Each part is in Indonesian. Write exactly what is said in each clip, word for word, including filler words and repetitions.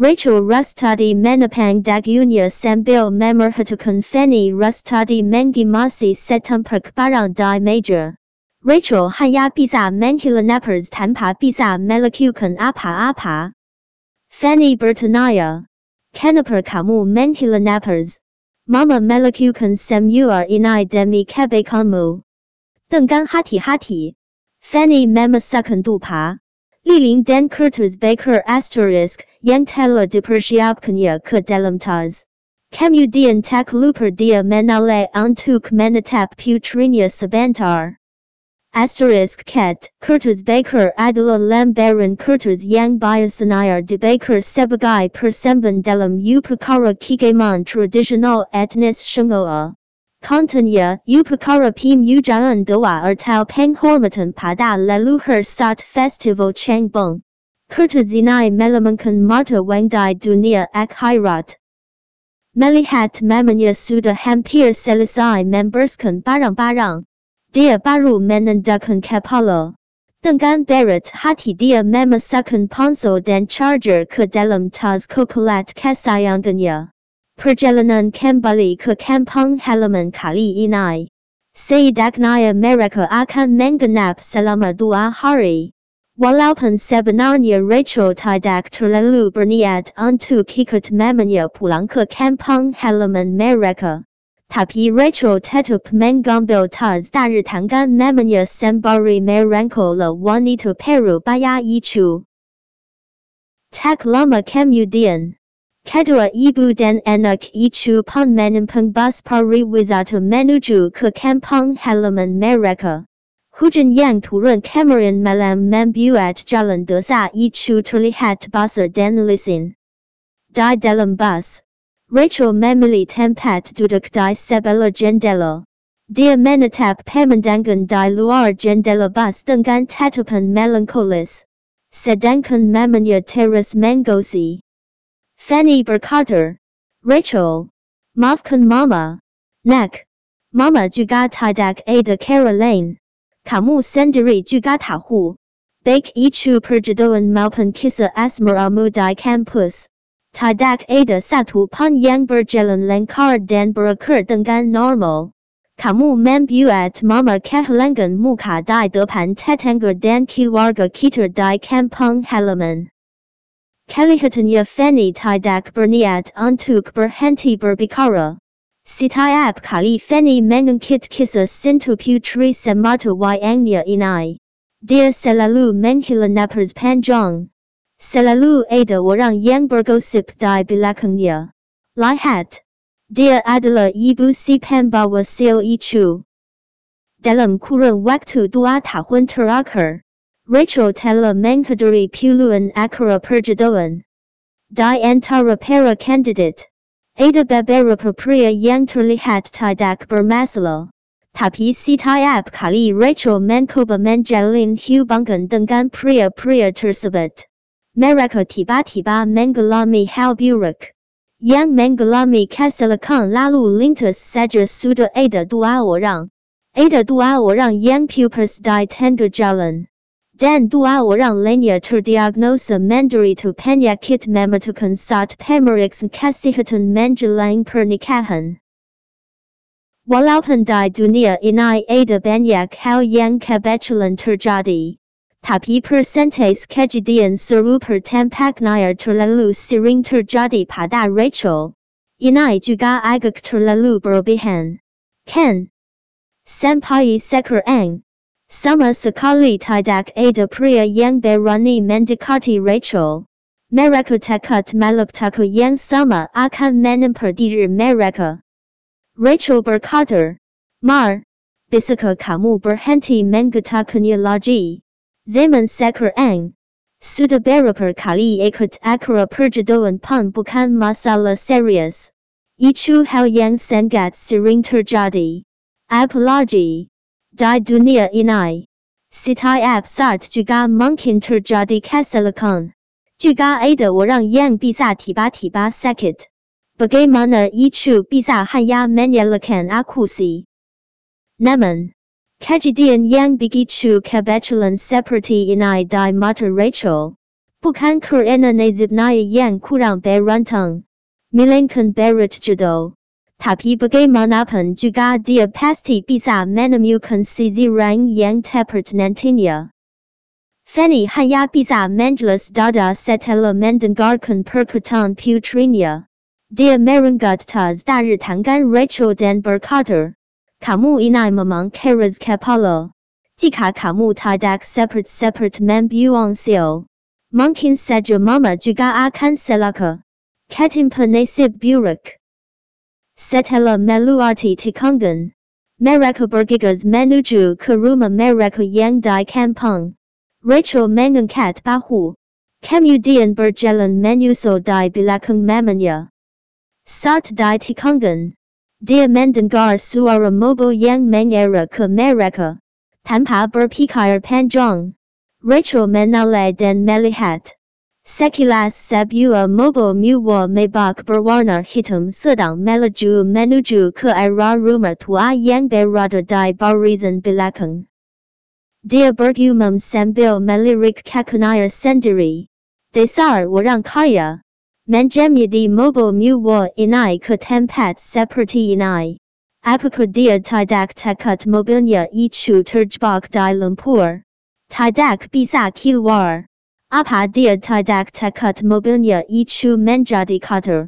Rachel Rustadi Menapang Dagunya Sambil Memerhatukan Feni Rustadi Mengimasi Setumperk Barang Di Major. Rachel Hanya Bisa Menghilanapers Tanpa Bisa Melakukan Apa-apa. Feni Bertanaya. Kenapa Kamu Menghilanapers? Mama Melakukan Semua Ini Demi Kebaikanmu. Dengan hati-hati. Feni Memasakkan Dupa. Lilin dan Kertas Baker Asterisk yang telah dipersiapkannya ke dalam tas. Kemudian tak lupa dia menoleh untuk menatap putrinya sebentar. Asterisk ket, Kertas Baker adalah lembaran kertas yang biasanya dibakar sebagai persembahan dalam upacara keagamaan tradisional etnis Shungoa. Kontennya, upacara pemujaan doa atau penghormatan pada leluhur saat festival Changbong. Kertas ini melambangkan mata wang di dunia akhirat. Melihat mamanya sudah hampir selesai membersihkan barang-barang. Dia baru menundukkan kepala. Dengan berat hati dia memasukkan ponsel dan charger ke dalam tas coklat kesayangannya. Perjalanan kembali ke kampung halaman kali ini. Setidaknya mereka akan menggenap selama dua hari. Walaupun sebenarnya Rachel tidak terlalu berniat untuk ikut mamanya pulang ke kampung halaman mereka. Tapi Rachel tetap mengambil tas dari tangan mamanya sembari merangkul wanita parubaya itu. Tak lama kemudian. Kedua ibu dan anak itu pun menampung bus pariwisata menuju ke kampung halaman mereka. Hujan yang turun kemarin malam membuat jalan desa itu terlihat basah dan licin. Di dalam bus, Rachel memilih tempat duduk di sebelah jendela. Dia menatap pemandangan di luar jendela bus dengan tatapan melankolis. Sedangkan mamanya terus menggosip. Fanny berkata, Rachel, maafkan mama. Nak, mama juga tidak ada cara lain. Kamu sendiri juga tahu. Baik itu perjodohan maupun kisah asmaramu di kampus. Tidak ada satu pun yang berjalan lancar dan berakhir dengan normal. Kamu membuat mama kehilangan muka di depan tetangga dan keluarga kita di kampung halaman. Kelihatannya Fanny tidak berniat untuk berhenti berbicara. Setiap kali Fanny mengangkat kisah cinta putri semata wayangnya ini, dia selalu menghela napas panjang. Selalu ada orang yang bergosip di belakangnya. Lihat, dia adalah ibu si pembawa sil itu. Dalam kurun waktu dua tahun terakhir, Rachel telah menghadiri puluhan acara perjodohan. Di antara para kandidat, ada beberapa pria yang terlihat tidak bermasalah. Tapi setiap kali Rachel mencoba menjalin hubungan dengan pria-pria tersebut, mereka tiba-tiba mengalami hal buruk. Yang mengalami kecelakaan lalu lintas saja sudah ada dua orang. Ada dua orang yang putus di tengah jalan. Dan dua orang lainnya terdiagnosa menderita penyakit mematikan saat pemeriksaan kesehatan menjelang pernikahan. Walaupun di dunia ini ada banyak hal yang kebetulan terjadi, tapi persentase kejadian serupa tampaknya terlalu sering terjadi pada Rachel. Ini juga agak terlalu berlebihan. Kan? Sampai sekarang. Sama sekali tidak ada pria yang berani mendekati Rachel. Mereka takut malapetaka yang sama akan menimpa diri mereka. Rachel berkata, Mar, bisakah kamu berhenti mengatakannya lagi? Zaman sekarang, sudah berapa kali ikut acara perjodohan pun bukan masalah serius. Itu hal yang sangat sering terjadi. Apalagi di dunia ini, setiap saat juga mungkin terjadi kecelakaan. Juga ada orang yang bisa tiba-tiba sakit. Bagaimana itu bisa hanya menyalahkan aku sih? Namun, kejadian yang begitu kebetulan seperti ini di mata Rachel, 不堪 Kurana Nazibnaya Yang Kurang Bay Runtong, Milankan Berit Judo, Tapi Bagai Manapan Juga Dia Pasti Bisa Menemukan Sisi Rang Yang Tepat Nantinya. Fanny Hanya Bisa Menjelas Dada Setelah Mendengarkan Perkataan Putrinya. Dia Merenggut Tas Dari Tangan Rachel dan berkata, Kamu ini memang keras kepala. Jika kamu tidak seperti-seperti membuang sial, mungkin saja mama juga akan celaka. Ketimpa nasib buruk. Setelah meluati tikungan, mereka bergegas menuju ke rumah mereka yang di kampung. Rachel mengangkat bahu, kemudian berjalan menyusul di belakang mamanya. Saat di tikungan, dia mendengar suara mobil yang mengarah ke mereka. Tanpa berpikir panjang, Rachel menoleh dan melihat. Sekilas sebuah mobil mewah mewah berwarna hitam sedang melaju menuju ke arah rumah tua yang berada di barisan belakang. Dia bergumam sambil melirik kakinya sendiri. Dasar orang kaya. Menjemedi mobil mewah ini ke tempat seperti ini. Apakah dia tidak takut mobilnya itu terjebak di lumpur? Tidak bisa keluar. Apa dia tidak takut mobilnya itu menjadi kotor?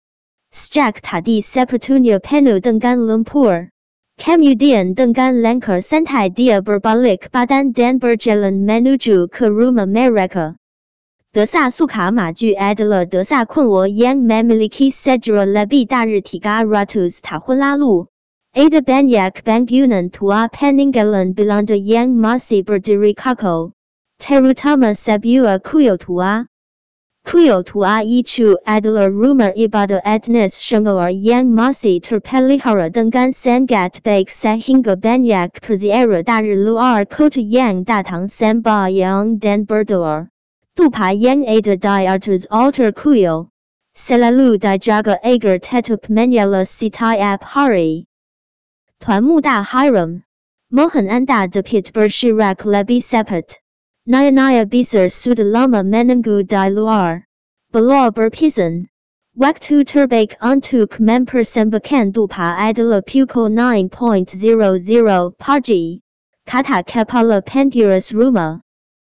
Sejak tadi sepatunya penuh dengan lumpur. Kemudian dengan langkah santai dia berbalik badan dan berjalan menuju ke rumah mereka. Desa suka maju adalah desa kuno yang memiliki sejarah lebih dari tiga ratus tahun lalu. Ada banyak bangunan tua peninggalan Belanda yang masih berdiri kokoh, terutama sebuah kuil tua. Kuil tua itu adalah rumah ibadah etnis Shanghai yang masih terpelihara dengan sangat baik sehingga banyak peziarah dari luar kota yang datang sembahyang dan berdoa. Dupa yang ada di atas altar kuil selalu dijaga agar tetap menyala setiap hari. Tuan Muda Hiram, mohon Anda dapat bergerak lebih cepat. Naya-naya besar sudah lama menunggu di luar. Bela berpesan. Waktu terbaik untuk mempersembahkan dupa adalah pukul sembilan pagi. Kata kepala pengurusi rumah.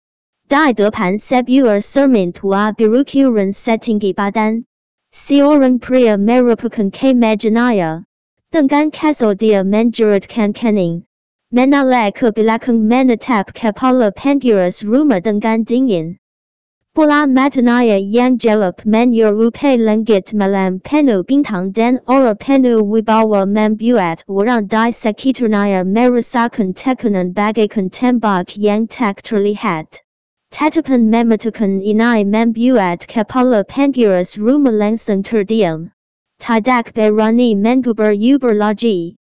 Di depan sebuah cermin tua berukuran setinggi badan. Seorang pria merupakan kemejanya. Dengan kesal dia menjeratkan kening. Menoleh ke belakang menatap kepala pengurusi rumah dengan dingin. Bola matanya yang gelap menyerupai langit malam penuh bintang dan aura penuh wibawa membuat orang di sekitarnya merasakan tekanan bagaikan tembak yang tak terlihat. Tatapan mematikan ini membuat kepala pengurusi rumah langsung terdiam. Tidak berani mengubur-ubur lagi.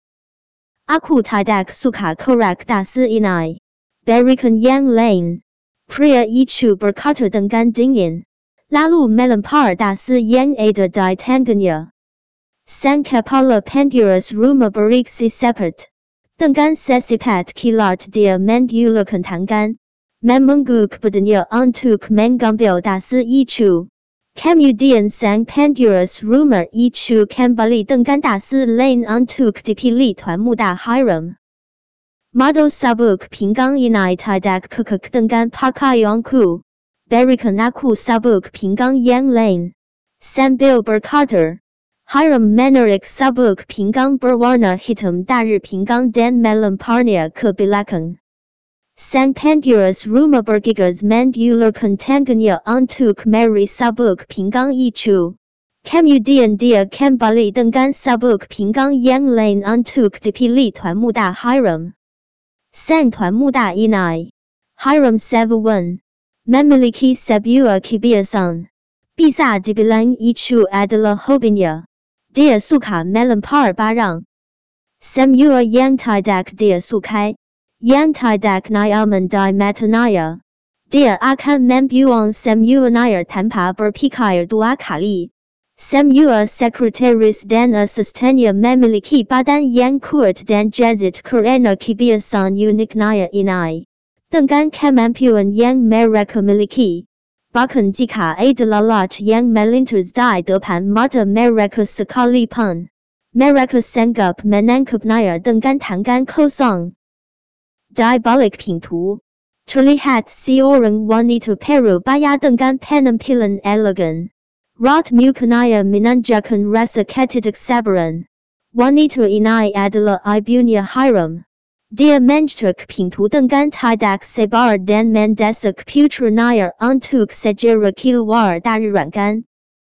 Aku tidak suka korak dasi ini. Berikan yang lain. Pria itu berkata dengan dingin. Lalu melempar dasi yang ada di tangannya. Sang kepala pengurusi rumah bereaksi cepat. Dengan secepat kilat dia mengulurkan tangan. Memangguk badannya untuk mengambil dasi itu. Kemudian sang pengurusi rumah itu kembali dengan dasi lain untuk dipilih Tuan Muda Hiram. Model sabuk pinggang ini tidak kekek dengan pakaianku. Berikan aku sabuk pinggang yang lain. Sambil berkata, Hiram menarik sabuk pinggang berwarna hitam dari pinggang dan melemparnya ke belakang. Sang pengurusi rumah bergegas mengulurkan tangannya untuk meraih sabuk pinggang itu. Kemudian dia kembali dengan sabuk pinggang yang lain untuk dipilih Tuan Muda Hiram. Sang Tuan Muda ini, Hiram Sevawan, memiliki sebuah kebiasaan. Bisa dibilang itu adalah hobinya. Dia suka melempar barang. Semua yang tidak dia sukai. Yang tidak nyaman di matanya. Dia akan membuang semuanya tanpa berpikir dua kali. Semua sekretaris dan asistennya memiliki badan yang kuat dan jazit karena kebiasaan uniknya ini. Dengan kemampuan yang mereka miliki, bahkan jika adalah yang melintas di depan mata mereka sekalipun, mereka sanggup menangkapnya dengan tangan kosong. Di balik pintu, terlihat seorang wanita parubaya dengan penampilan elegan. Raut mukanya menunjukkan rasa ketidaksabaran. Wanita ini adalah ibunya Hiram. Dia mengetuk pintu dengan tidak sabar dan mendesak putranya untuk segera keluar dari ruangan.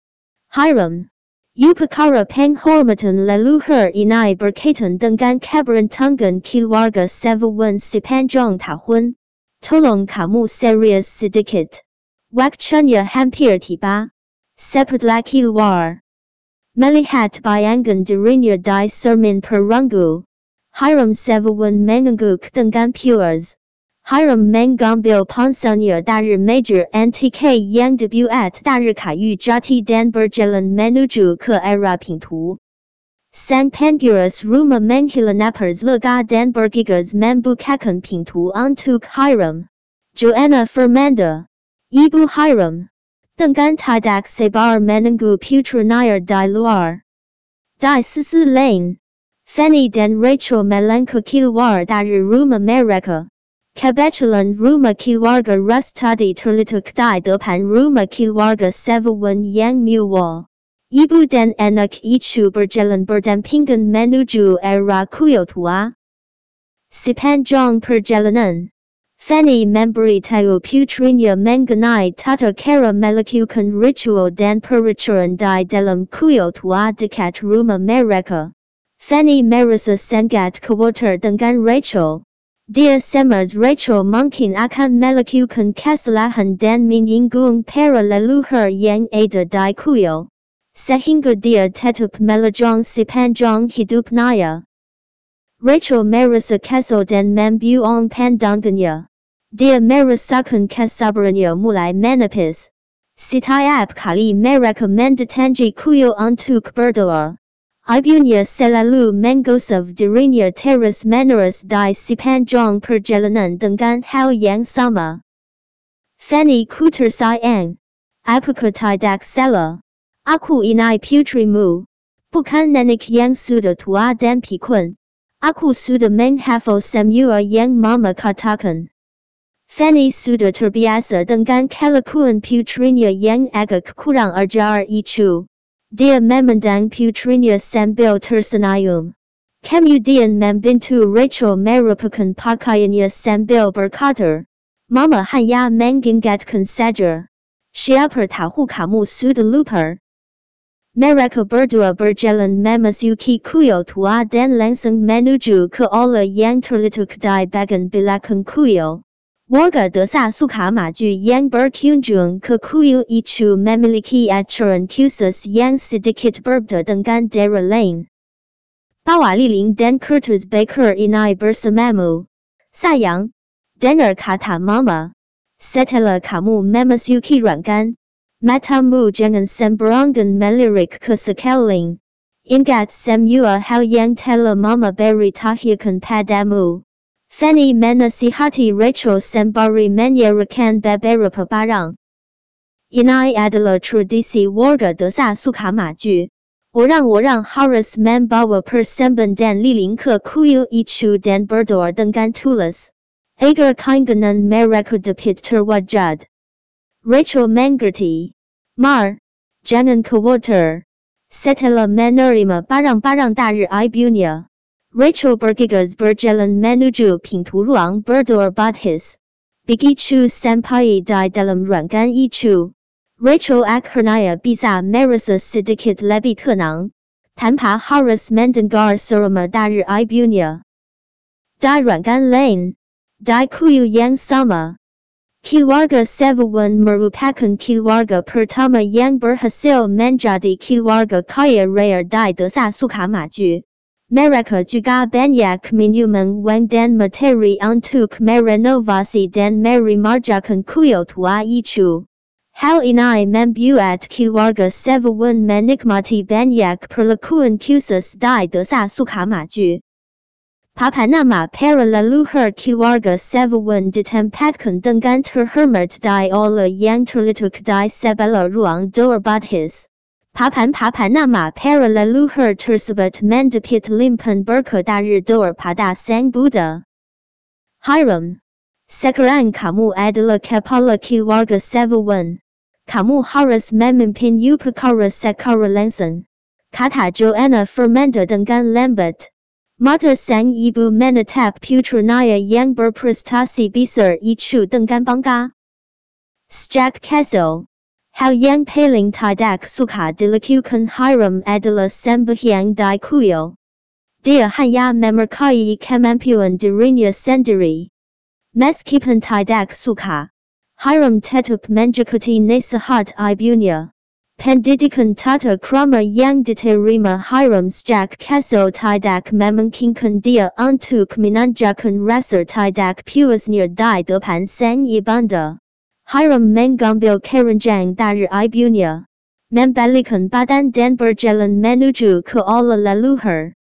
Hiram, upacara penghormatan leluhur ini berkaitan dengan keberuntungan keluarga Seven sepanjang tahun. Tolong kamu serius sedikit. Waktunya hampir tiba. Sepertilah keluar. Melihat bayangan dirinya di cermin perunggu, Hiram Seven mengangguk dengan puas. Hiram mengambil ponselnya dari meja antik yang dibuat dari kayu jati dan berjalan menuju ke arah pintu. Sang penguras rumah menghilang napas lega dan bergegas membukakan pintu untuk Hiram. Joanna Fernanda, Ibu Hiram, dengan tidak sabar menunggu putranya di luar. Di sisi lain, Fanny dan Rachel melangkah keluar dari rumah mereka. Kebetulan rumah keluarga Rustadi terletak di depan rumah keluarga Seven yang mewah. Ibu dan anak itu berjalan berdampingan menuju arah kuil tua. Sepanjang perjalanan, Fanny memberitahu putrinya mengenai tata cara melakukan ritual dan peraturan di dalam kuil tua dekat rumah mereka. Fanny merasa sangat khawatir dengan Rachel. Dia cemas Rachel mungkin akan melakukan kesalahan dan menyinggung para leluhur yang ada di kuil. Sehingga dia tetap melajang sepanjang hidupnya. Rachel merasa kesal dan membuang pandangannya. Dia merasakan kesabarannya mulai menipis. Setiap kali mereka mendatangi kuil untuk berdoa, ibunya selalu menggosok dirinya terus menerus di sepanjang perjalanan dengan hal yang sama. Fanny ku tersayang, apakah tidak salah? Aku ini putrimu, bukan nenek yang sudah tua dan pikun. Aku sudah menghafal semua yang mama katakan. Fanny sudah terbiasa dengan kelakuan putrinya yang agak kurang ajar itu. Dia memandang putrinya sambil tersenyum. Kemudian membantu Rachel merapikan pakaiannya sambil berkata, Mama hanya mengingatkan saja. Siapa tahu kamu sudah lupa. Mereka berdua berjalan memasuki kuil tua dan langsung menuju ke aula yang terletak di bagian belakang kuil. Warga desa suka maju yang berkunjung ke kuil itu memiliki aturan khusus yang sedikit berbeda dengan daerah lain. Bawa lilin dan kertas bakar ini bersamamu. Sayang, dengar kata mama. Setelah kamu memasuki ruangan, matamu jangan sembarangan melirik ke sekeliling. Ingat semua hal yang telah mama beritahukan padamu. Fanny menasihati Rachel sembari menyerahkan beberapa barang. Ini adalah tradisi warga desa suka maju. Orang-orang harus membawa persembahan dan lilin ke kuil itu dan berdoa dengan tulus, agar keinginan mereka dapat terwujud. Rachel mengerti. Mar, jangan khawatir. Setelah menerima barang-barang dari ibunya, Rachel bergegas berjalan menuju pintu ruang berdoa baptis. Begitu sampai di dalam ruangan itu, Rachel akhirnya bisa merasa sedikit lebih tenang, tanpa harus mendengar ceramah dari ibunya. Di ruangan lain, di kuil yang sama, keluarga Seven merupakan keluarga pertama yang berhasil menjadi keluarga kaya raya di desa Sukamaju. Mereka juga banyak menyumbang wang dan materi untuk merenovasi dan meremajakan kuil tua itu. Hal ini membuat keluarga Seven menikmati banyak perlakuan khusus di desa Sukamaju. Papanama para leluhur keluarga Sevuan ditempatkan dengan terhormat di oleh yang terlituk di sebelah ruang doa batis. Papan-papan nama para leluhur tersebut mendapat limpahan berkah dari doa pada Sang Buddha. Hiram, sekarang kamu adalah kepala keluarga Sevuan. Kamu harus memimpin upacara secara langsung, kata Joanna Fernanda dengan lambat. Mata sang ibu menatap putranya yang berprestasi besar itu dengan bangga. Sejak kecil, hal yang paling tidak suka dilakukan Hiram adalah sembahyang di kuil. Dia hanya memarkai kemampuan dirinya sendiri. Meskipun tidak suka, Hiram tetap mengikuti nasihat ibunya. Pendidikan tata krama yang diterima Hiram sejak kecil tidak memungkinkan dia untuk menunjukkan rasa tidak puasnya di depan sang ibunda. Hiram mengambil keranjang dari ibunya, membalikkan badan dan berjalan menuju ke aula leluhur.